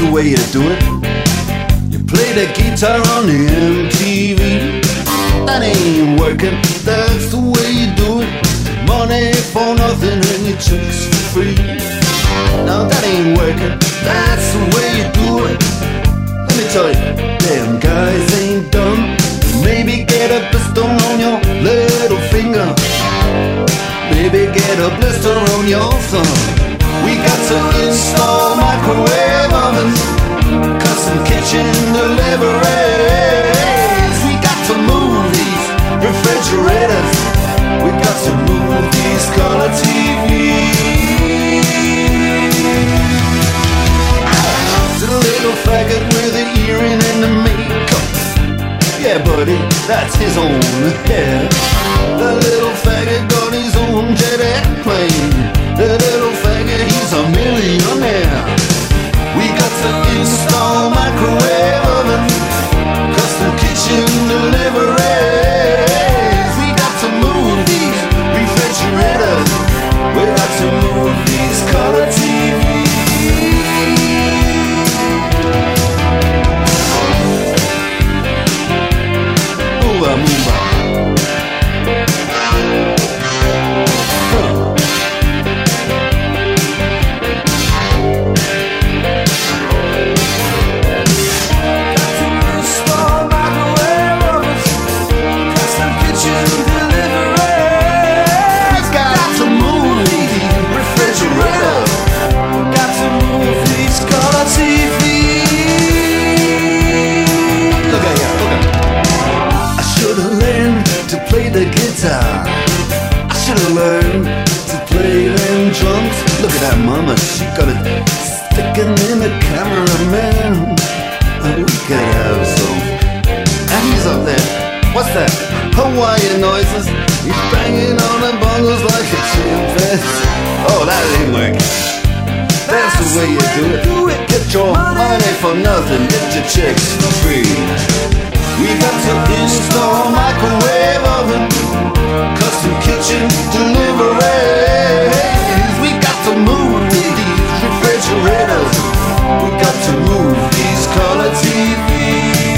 the way you do it. You play the guitar on the MTV. That ain't working, that's the way you do it. Money for nothing and your chicks for free. Now that ain't working, that's the way you do it. Let me tell you, damn guys ain't dumb. Maybe get a blister on your little finger. Maybe get a blister on your thumb. We got to install microwave ovens, custom kitchen deliveries. We got to move these refrigerators. We got to move these color TVs. To the little faggot with the earring and the makeup. Yeah, buddy, that's his own hair. The little faggot got his own jet airplane. The little faggot, he's a millionaire. We got to install microwave oven, custom kitchen deliveries. We got to move these refrigerators. We got to move these color TVs. Move on, move on. The guitar, I should've learned to play them drums. Look at that mama, she got it sticking in the cameraman. We could have some. And he's up there, what's that? Hawaiian noises. He's banging on the bongos like a chimpanzee. Oh, that ain't working. That's the way you do it. Get your money for nothing, get your chicks for free. We got to install microwave oven, custom kitchen deliveries. We got to move these refrigerators. We got to move these color TVs.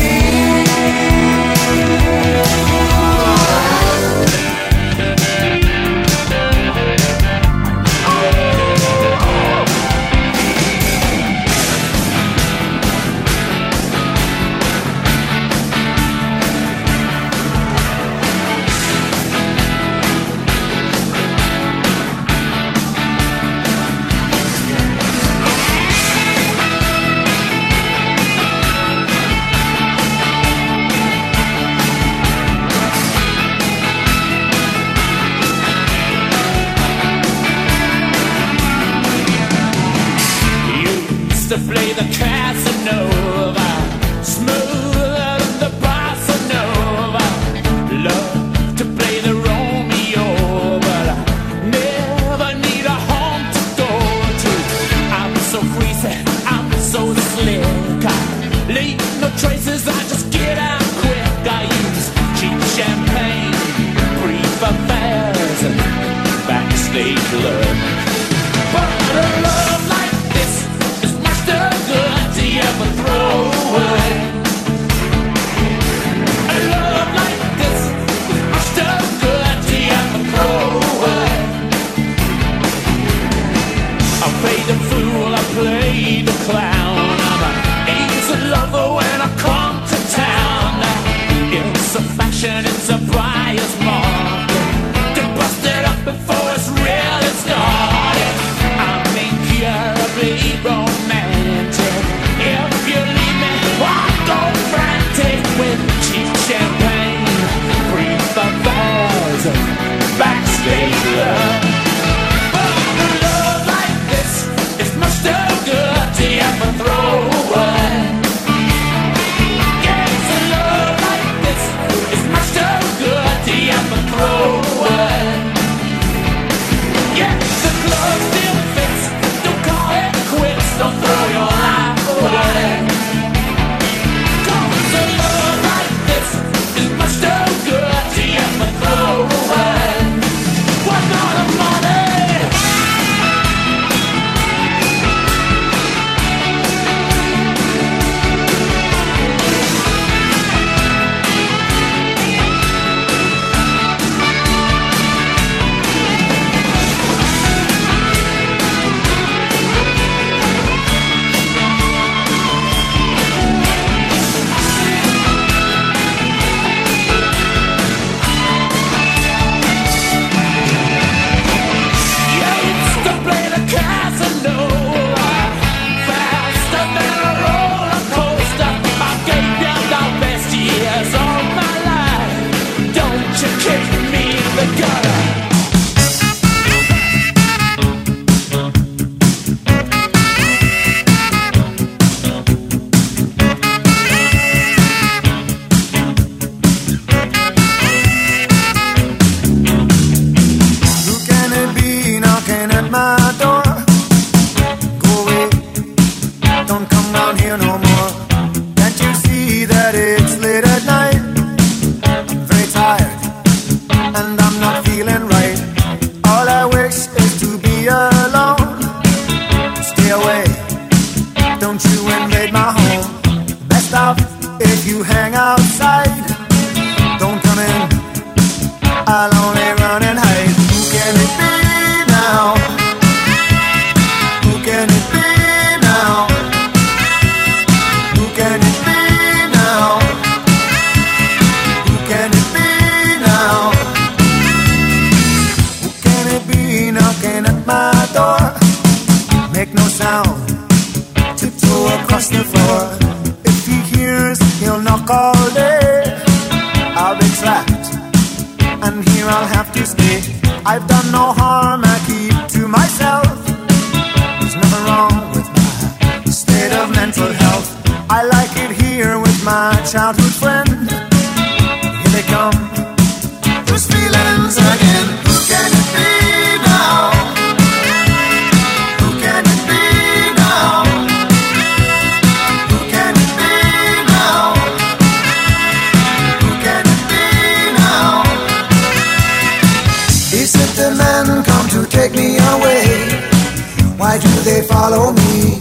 they follow me.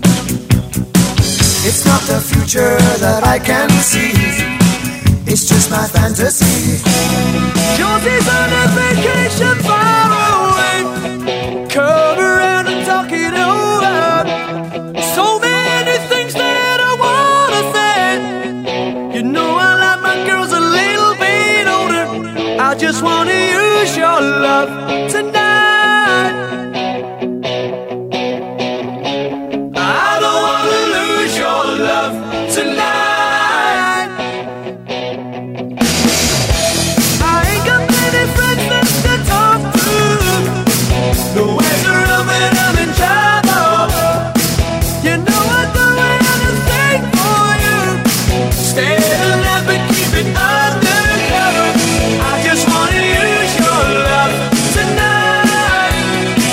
It's not the future that I can see, it's just my fantasy. Josie's on a vacation far away, come around and talk it over. So many things that I wanna say. You know I like my girls a little bit older. I just wanna use your love tonight. I don't wanna lose your love tonight. I ain't got many friends left to talk to. Nowhere's around when I'm in trouble. You know I'd do anything for you. Stay alive but keep it undercover. I just wanna use your love tonight.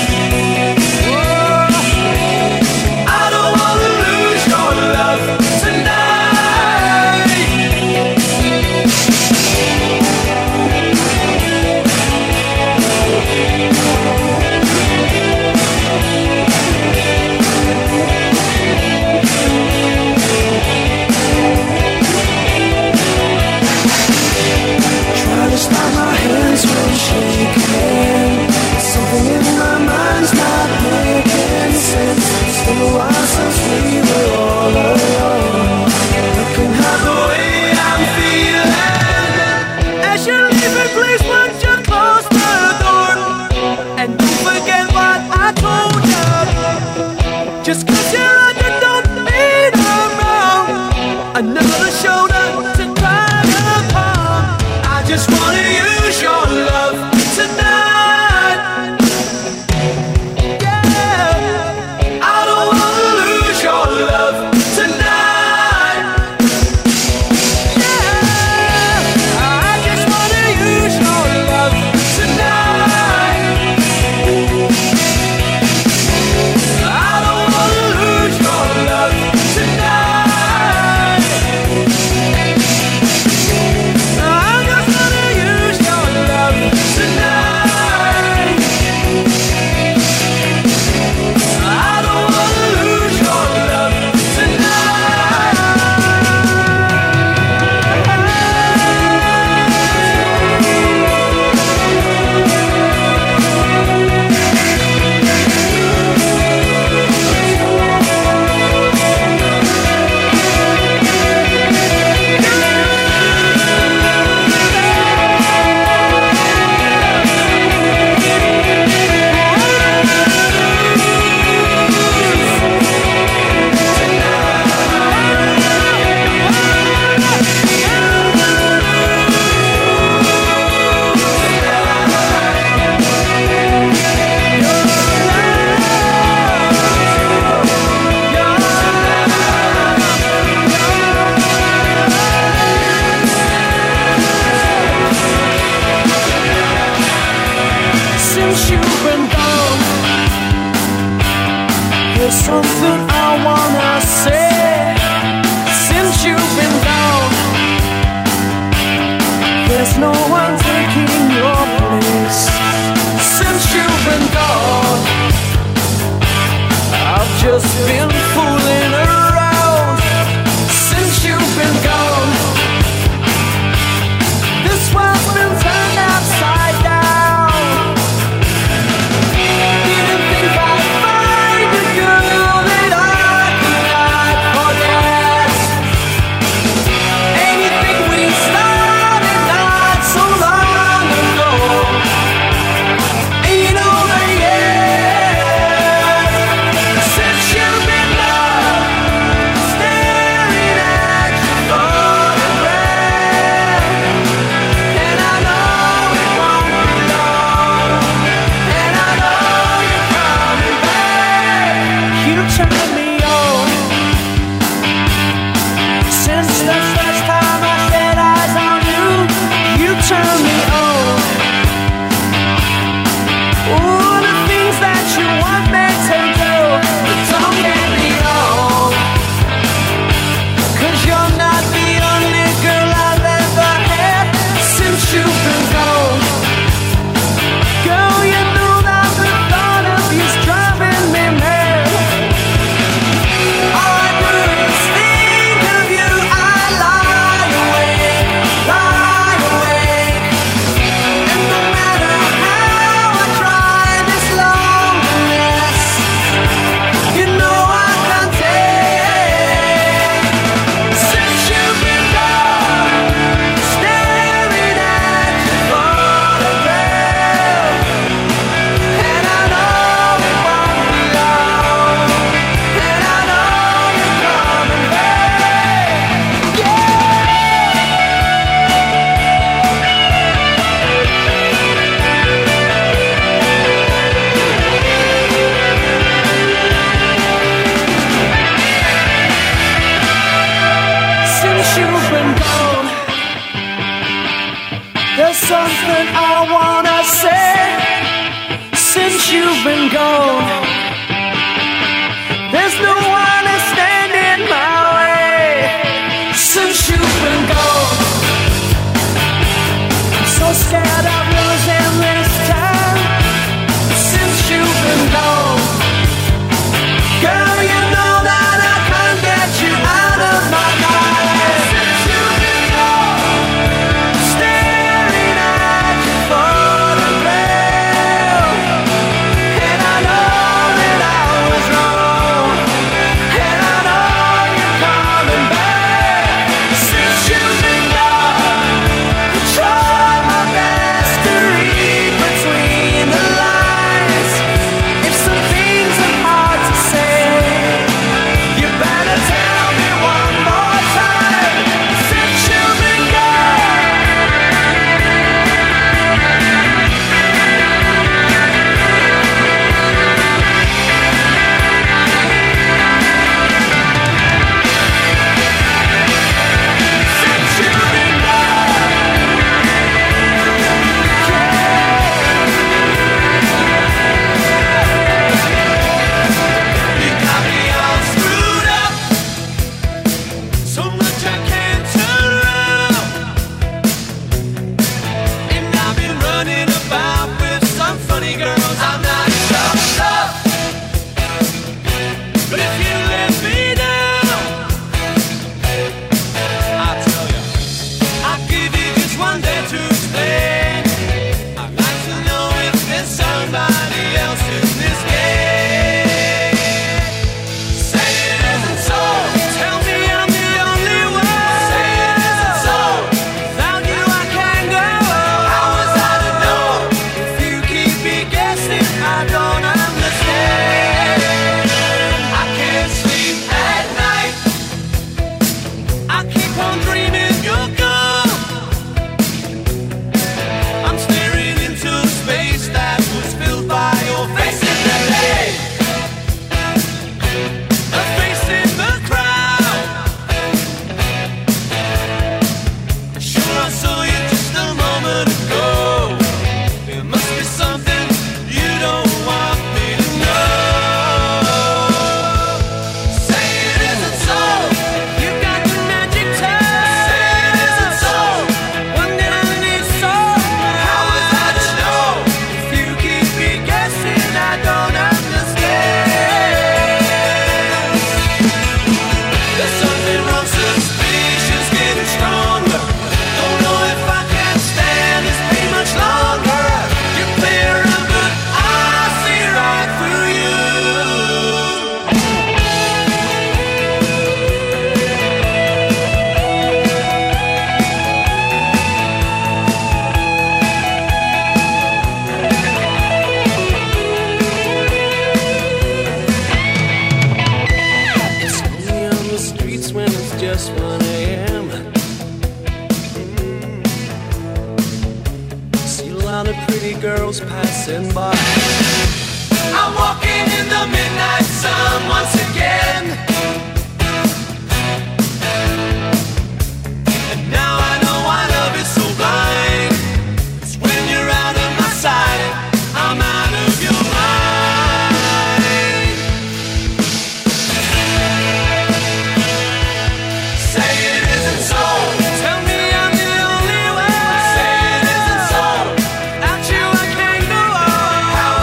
Oh, I don't wanna lose your love tonight. Try to stop my hands from shaking. Something in my mind's not making sense. It's been a while since we were all alone. Looking half The way I'm feeling as you leave me, please won't you close the door. And don't forget what I told you. Just 'cause you're on, you don't mean I'm wrong. Another shoulder to cry upon. I just wanna use your love tonight. Yeah, I don't wanna lose your love tonight. Yeah, I just wanna use your love tonight. I don't wanna lose your love tonight. I just wanna use your love tonight. I don't wanna lose your love since you've been gone. There's something I wanna say. Since you've been gone, there's no one taking your place. Since you've been gone, I've just been fooling around. Since you've been gone, this world's been turned upside down. Didn't think I'd find a girl that I could not forget. Anything we started not so long ago ain't over yet. Since you've been gone, staring at your photograph, and I know it won't be long, and I know you're coming back. You turn me on. Since the first time I set eyes on you, you turn me on. All the things that you want me to do, but don't get me wrong, 'cause you're not the only girl I've ever had since you've been gone. Girl, you know that the thought of you's driving me mad. There's no one to stand in my way since you've been gone. I'm so scared of losing this time since you've been gone. Girl, you know that I can't get you out of my mind since you've been gone. Staring at your photograph, and I know that I was wrong, and I know you're coming back since you've been gone. I tried my best to read between the lines. If some things are hard to say, you better tell me one more time since you've been gone. Since you've been You got me all screwed up, so much I can't turn around. And I've been running about with some funny girls I'm not sure of. But if you let me down, I'll tell you, I'll give you just one day to explain. I'd like to know if there's somebody else in this game. Say it isn't so. Tell me I'm the only one. Say it isn't so. Without you I can't go. How was I to know? If you keep me guessing, I don't understand. I can't sleep at night. I keep on dreaming you're gone. I'm staring into space that was filled by your face in the day. A face in the crowd. Sure, I saw you just a moment ago. There must be something you don't want me to know. Say it isn't so. You got the magic touch. Say it isn't so. One that I need so. How was I to know? If you keep me guessing, I don't understand. There's something wrong, suspicion's getting stronger. Don't know if I can stand this pain much longer. You play around, but I see right through you. It's only on the streets when it's just 1 a.m. See a lot of pretty girls passing by. I'm walking in the midnight sun once again. And now I know why love is so blind. It's when you're out of my sight, I'm out of your mind. Say it isn't so. Tell me I'm the only one. Say it isn't so. Without you I can't go on. How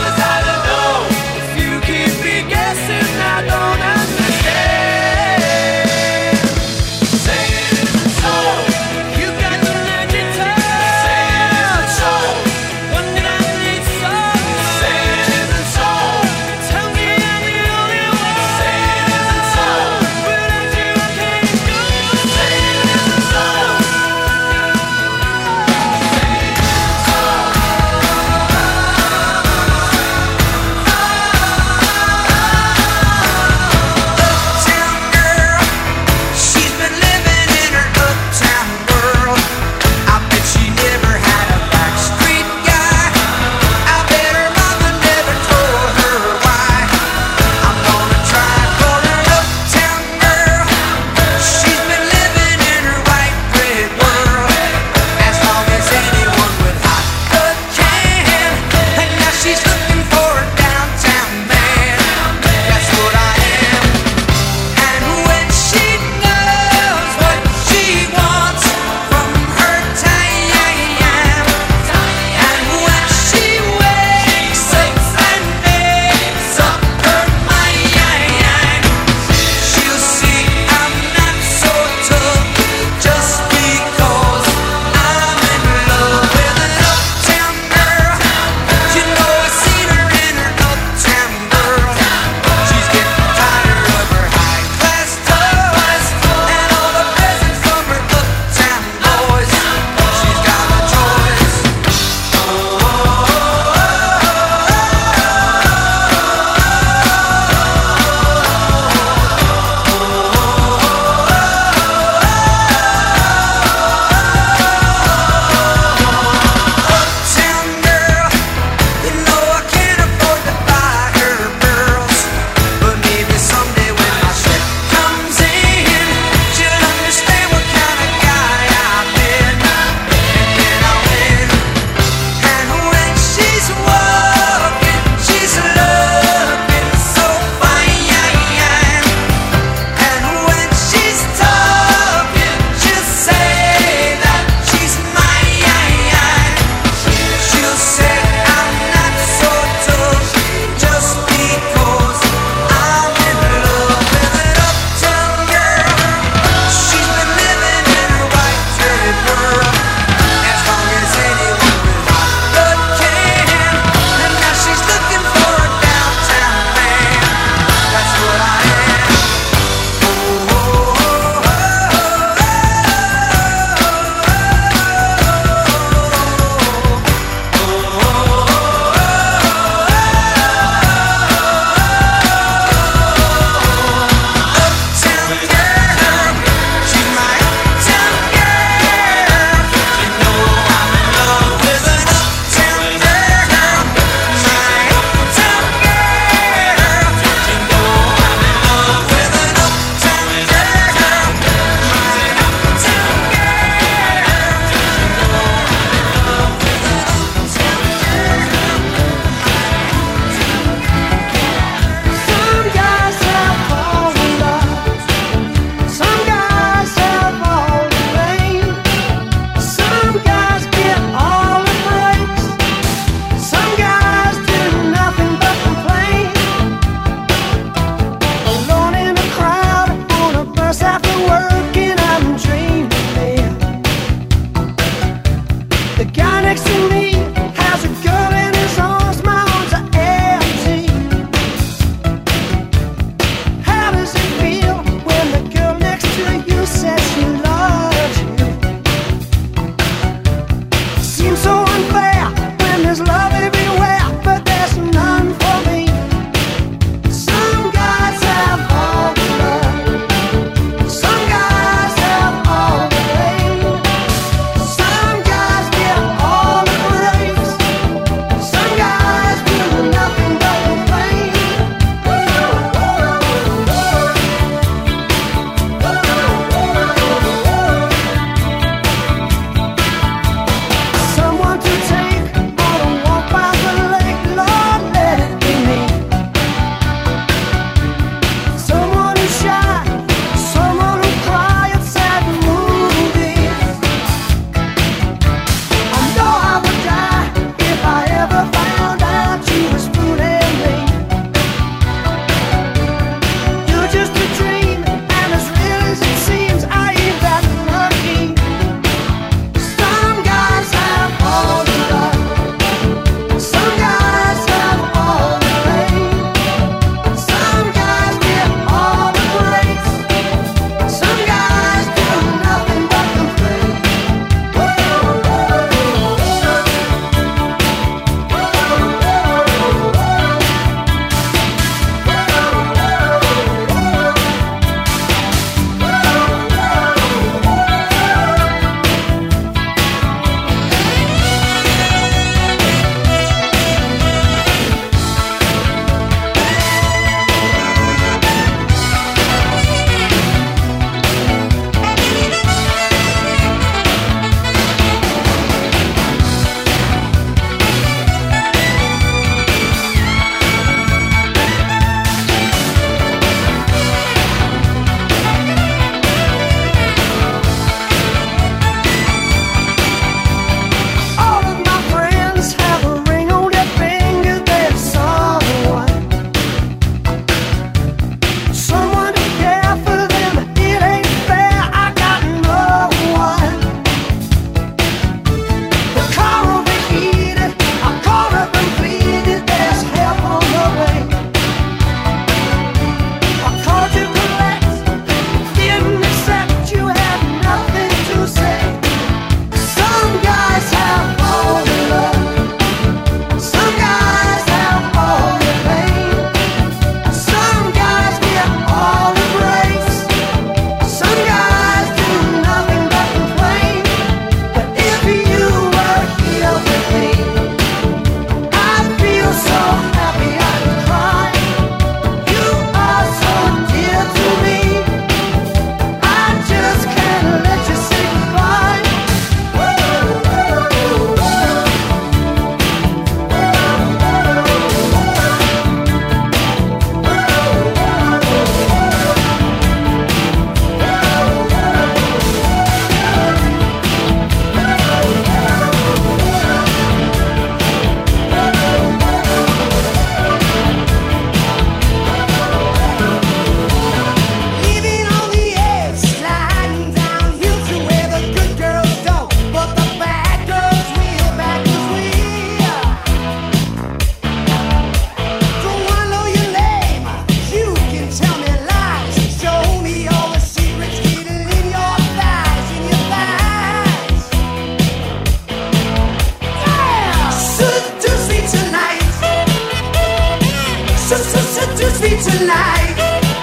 seduce me tonight.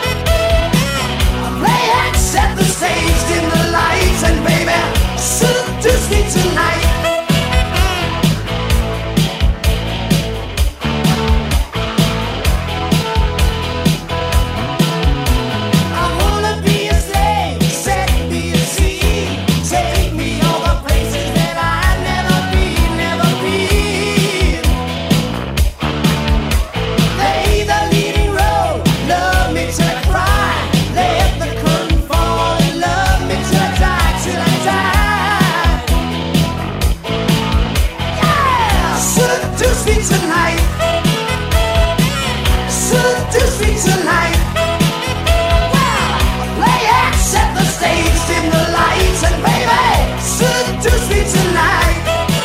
Play and set the stage, dim the lights, and baby, seduce me tonight. I wanna be a slave, set me free, take me all the places that I've never been, never been. Play the leading role, love me till I cry, let the curtain fall and love me till I die, till I die. Yeah, seduce me tonight, seduce me tonight. Play and set the stage, dim the lights, and baby, seduce me tonight.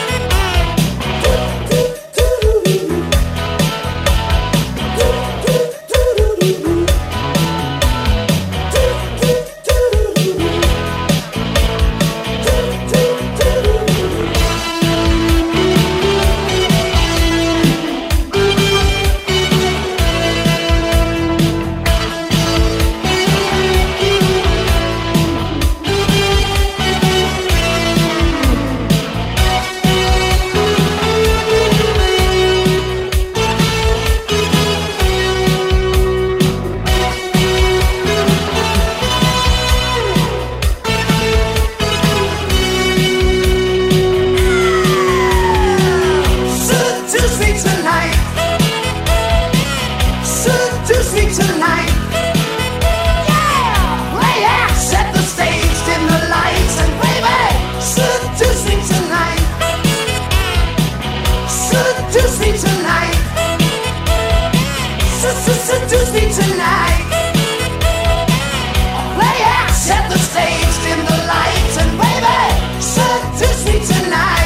Seduce me tonight, seduce me tonight. Yeah, play and set the stage, dim the lights, and baby, seduce me tonight, seduce me tonight, seduce me tonight. Play and set the stage, dim the lights, and baby, seduce me tonight.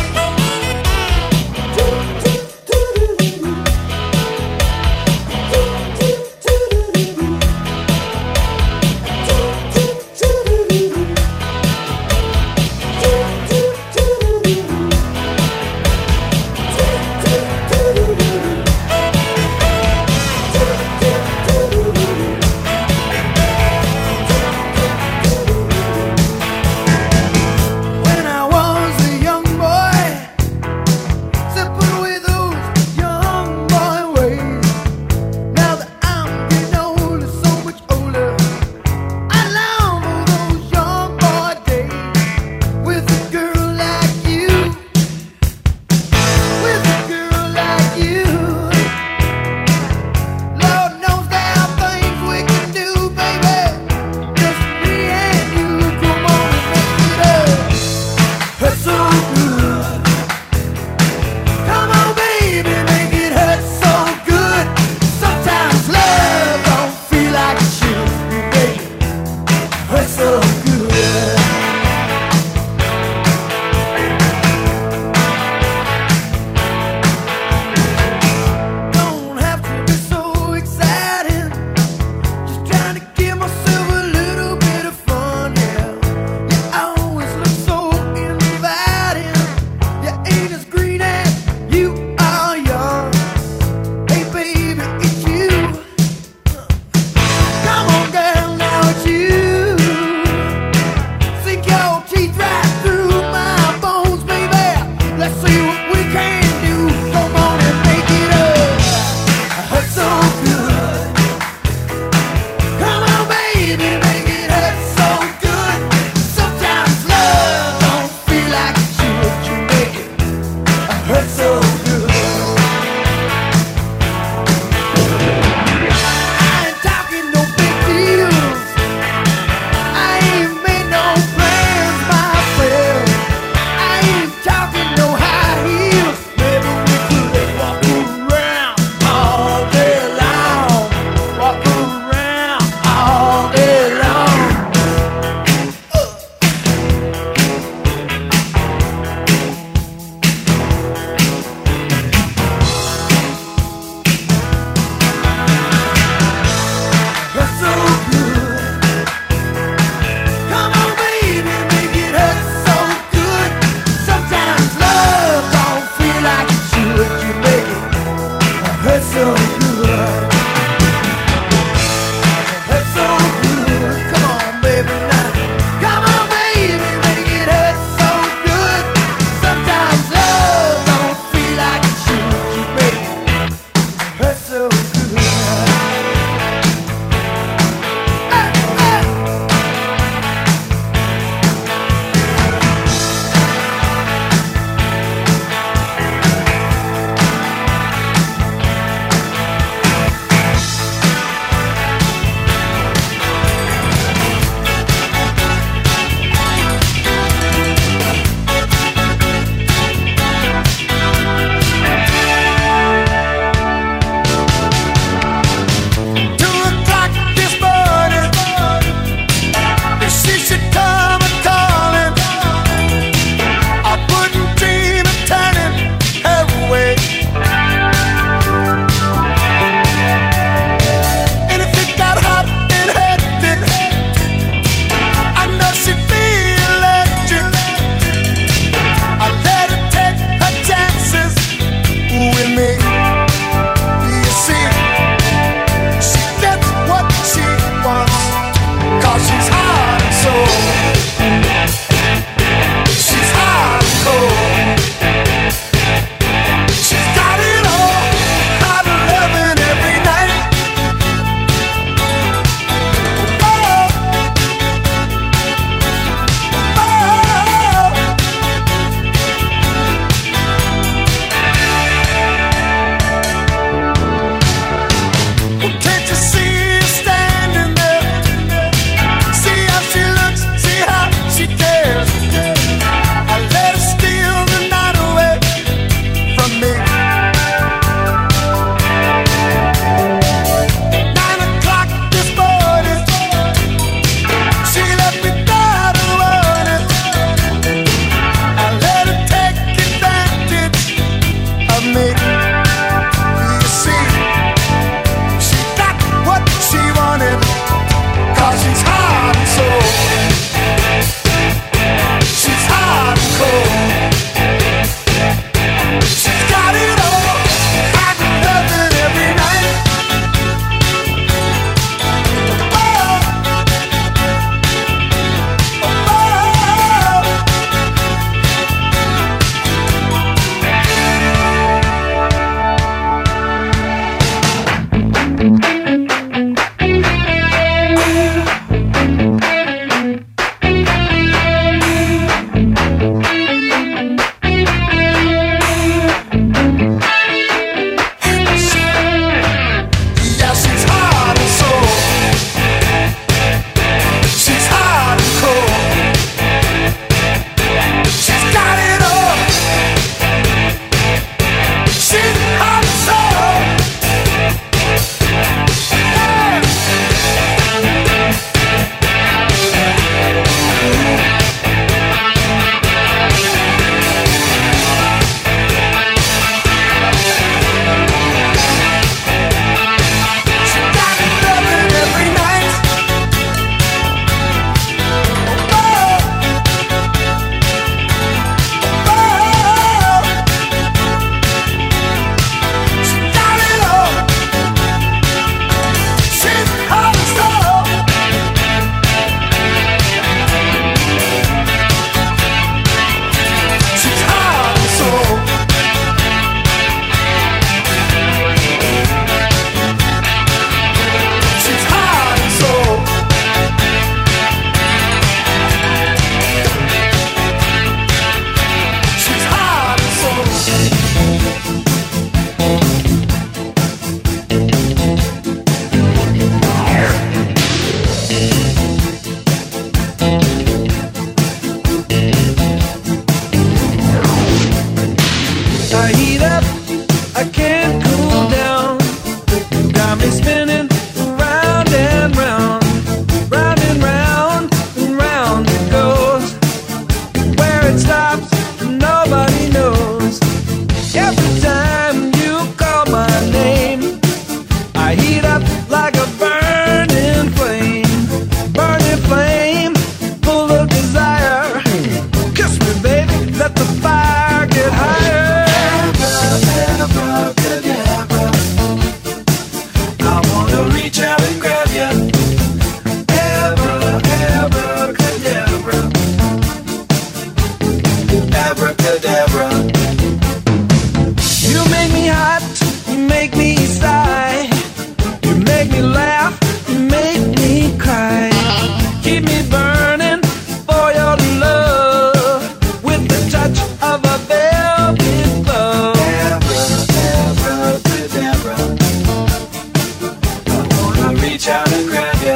out and grab ya.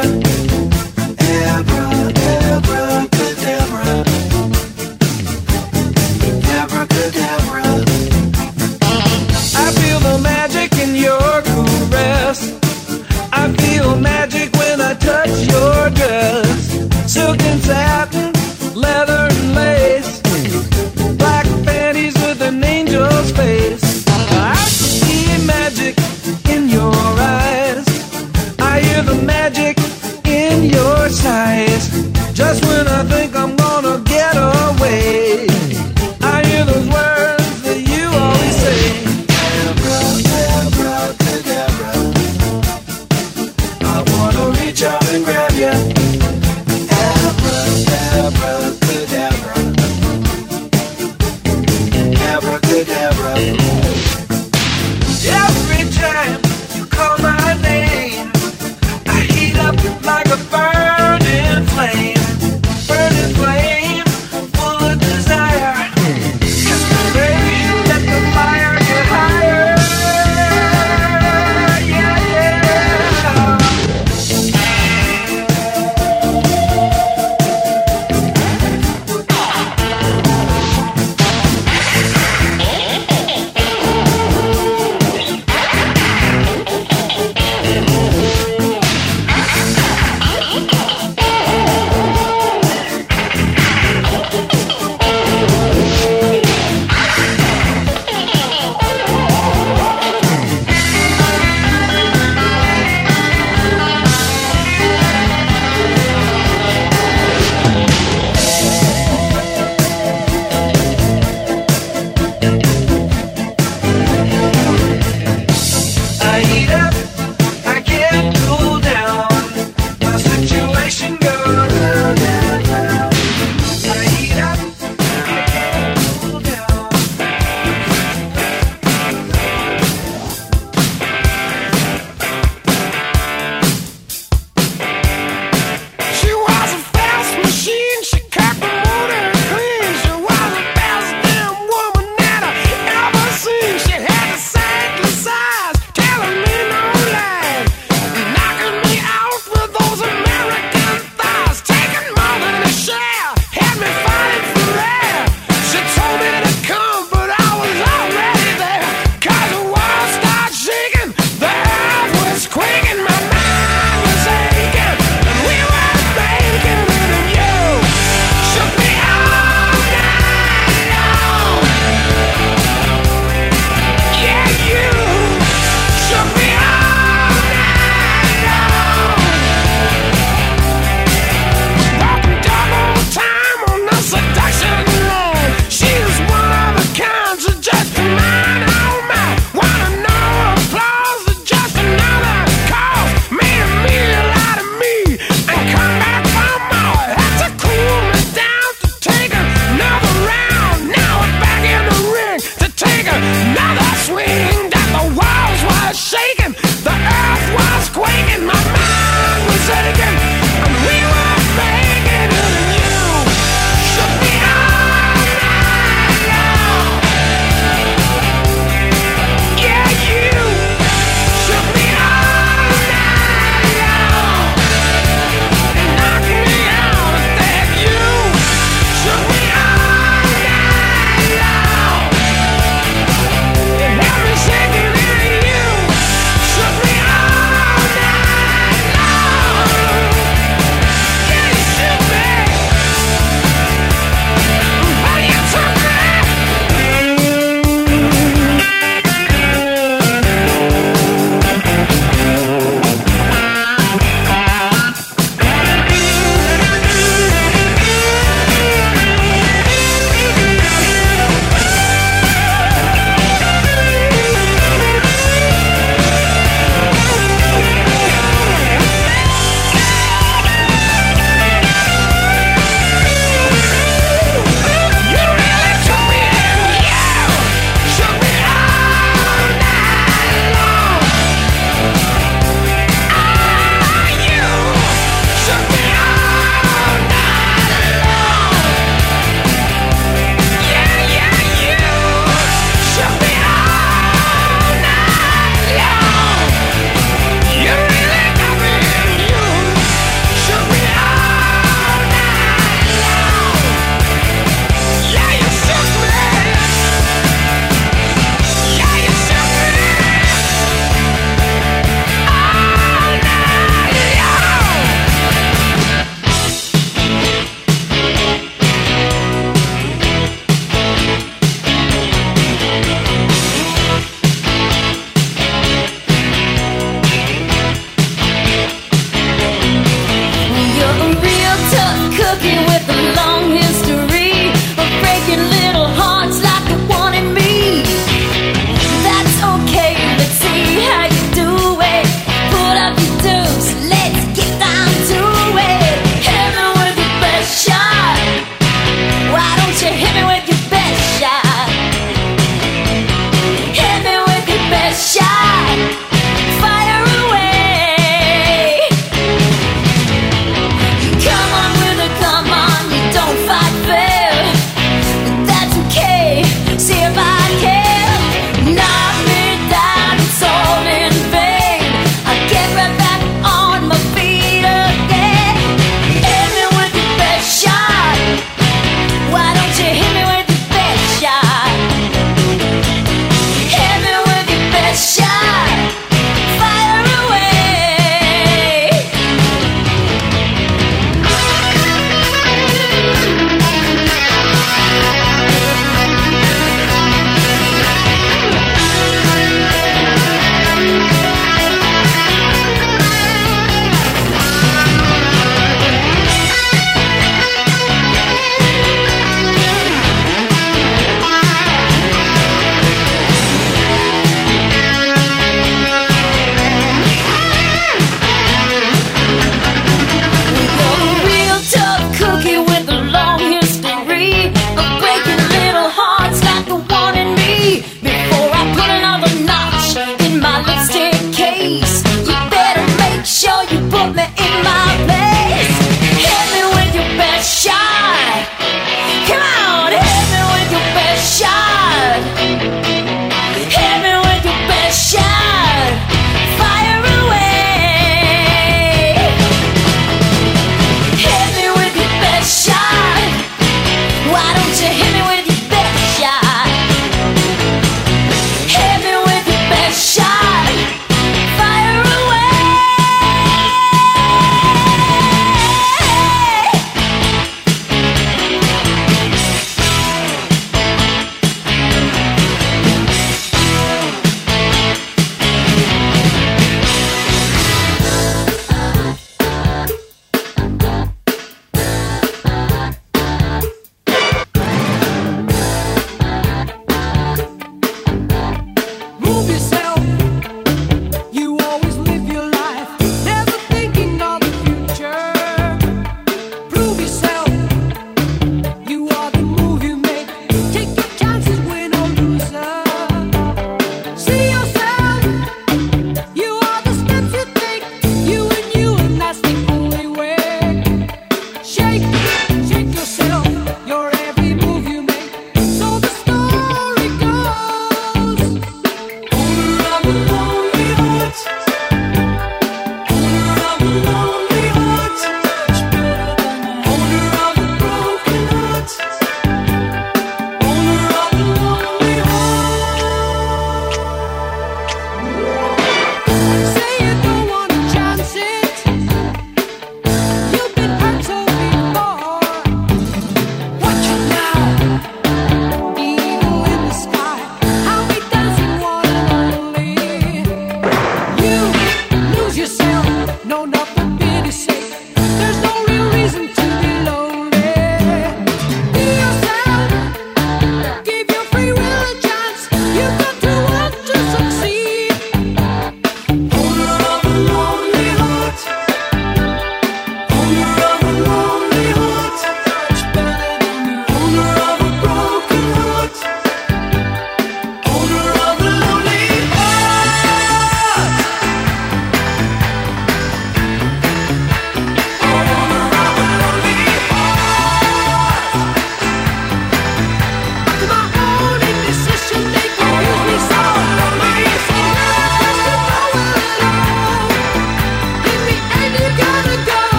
Abracadabra. Abracadabra. I feel the magic in your caress. I feel magic when I touch your dress. Silk and satin, leather and lace, black panties with an angel's face. I see magic in your eyes. I hear the magic in your sighs. Just when I think I'm gonna get away, I hear those words that you always say. Abracadabra. I wanna reach out and grab ya. Abracadabra. Abracadabra. Every time you call my name, I heat up like a burning flame, full of desire. Kiss me, baby, let the fire get higher. Yeah, yeah.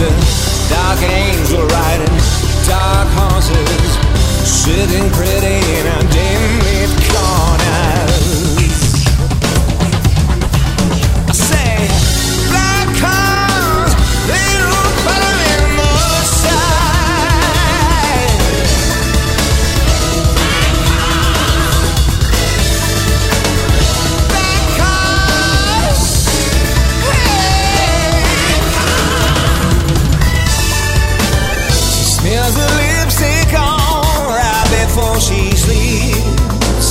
dark angel riding dark horses, sitting pretty in a dim-lit corners. I say, black cars, they look better in the side. Black cars, hey. She smears her lipstick on right before she sleeps.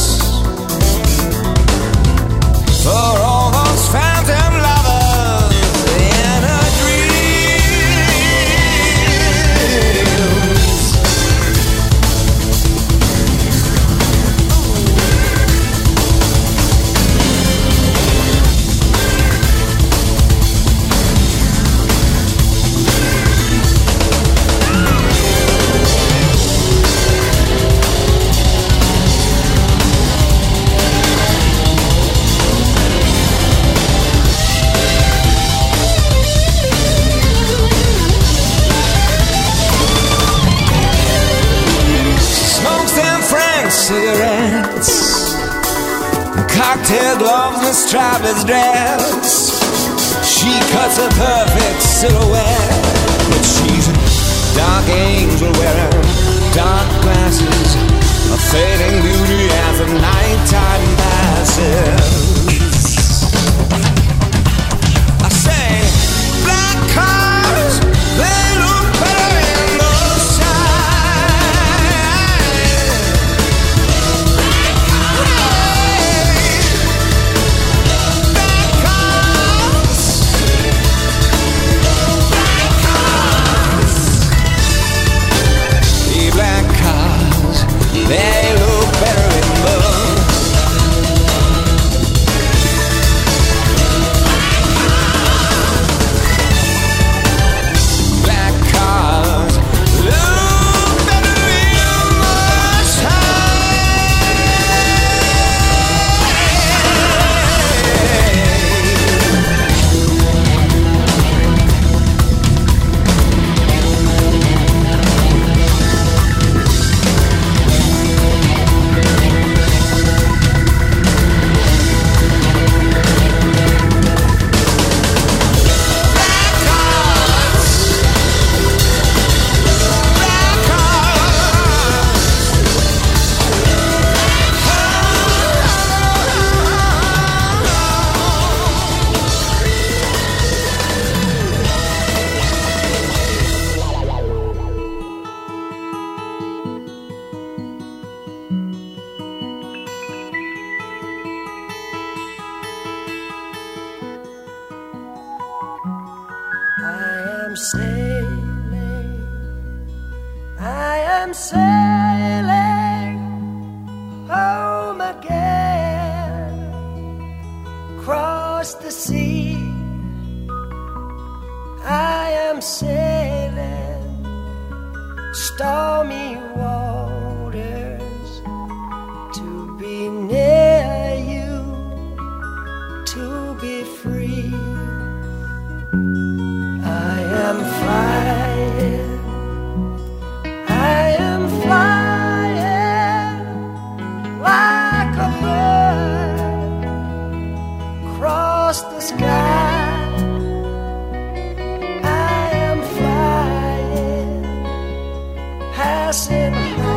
For all those phantom lovers in her dreams. Smokes them French cigarettes, cocktail gloves and strapless dress. She cuts a perfect silhouette, but she's a dark angel wearing dark glasses, a fading beauty as the nighttime passes. I say, black cars, they look better in the side. Black cars, the black cars, they look better in the black cars, look better in the I am sailing home again, across the sea. I am sailing stormy waters to be near you, to be free. I am flying, I am flying like a bird across the sky. I am flying, passing high.